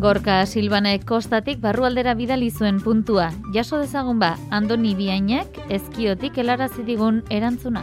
Gorka Silvanek kostatik barrualdera bidali zuen puntua. Jaso dezagun ba, Andoni Biainak ezkiotik helarazi digun erantzuna.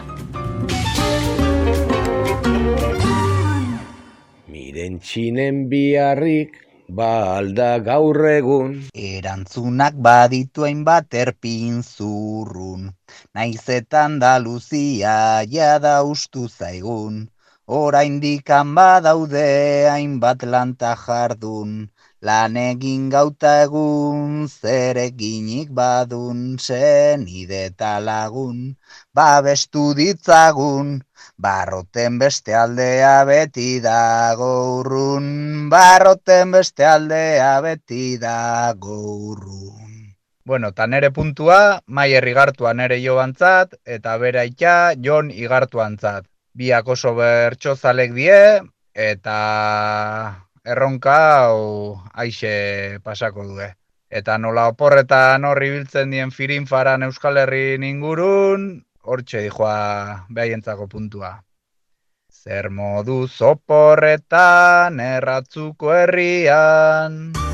Miren txinen biharrik, ba alda gaur egun. Erantzunak baditu hainbat erpin zurrun, naiz eta Andaluzia jada ustu zaigun. Oraindik badaude hainbat lanta jardun, lan egin gauta egun, zer eginik badun, senide eta lagun, babestu ditzagun. Barroten beste aldea beti dago urrun, barroten beste aldea beti dago urrun. Bueno, ta nere puntua, Maier Igartua nere joantzat, eta bere aita Jon Igartuantzat. Biak oso bertsozalek die, eta erronka hau aixe pasako due. Eta nola oporretan horri biltzen dien firinfaran Euskal Herrin ingurun, hortxe dijoa behaientzako puntua. Zer moduz oporretan erratzuko herrian.